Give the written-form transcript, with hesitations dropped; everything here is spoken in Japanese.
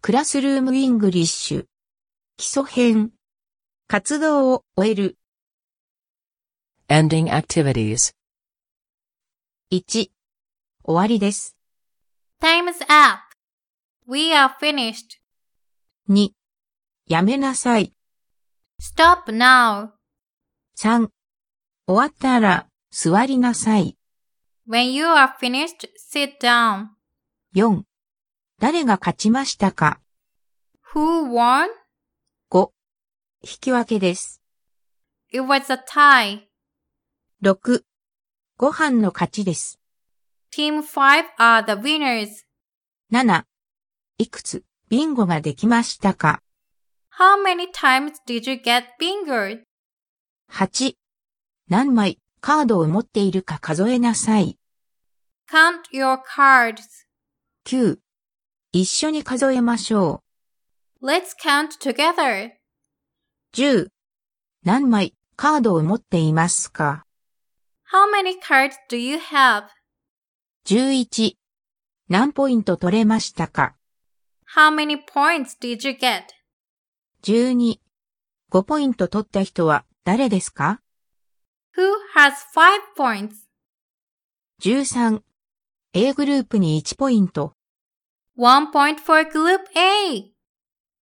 クラスルームイングリッシュ。基礎編。活動を終える。 Ending activities. 1、終わりです。 Time's up. We are finished. 2、やめなさい。 Stop now. 3、終わったら、座りなさい。 When you are finished, sit down. 4、誰が勝ちましたか。 Who won? 5、引き分けです。 It was a tie. 6、ご飯の勝ちです。 Team 5 are the winners. 7、いくつ、ビンゴができましたか。 How many times did you get bingoed? 8、何枚カードを持っているか数えなさい。 Count your cards. 9、一緒に数えましょう。 Let's count together. 10、何枚カードを持っていますか。 How many cards do you have? 11、何ポイント取れましたか。 How many points did you get? 12、5ポイント取った人は誰ですか。 Who has 5 points? 13、A グループに1ポイント。 1 point for Group A.